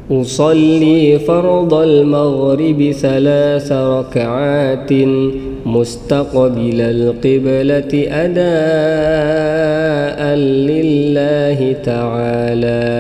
أصلي فرض المغرب 3 ركعات مستقبل القبلة أداء لله تعالى.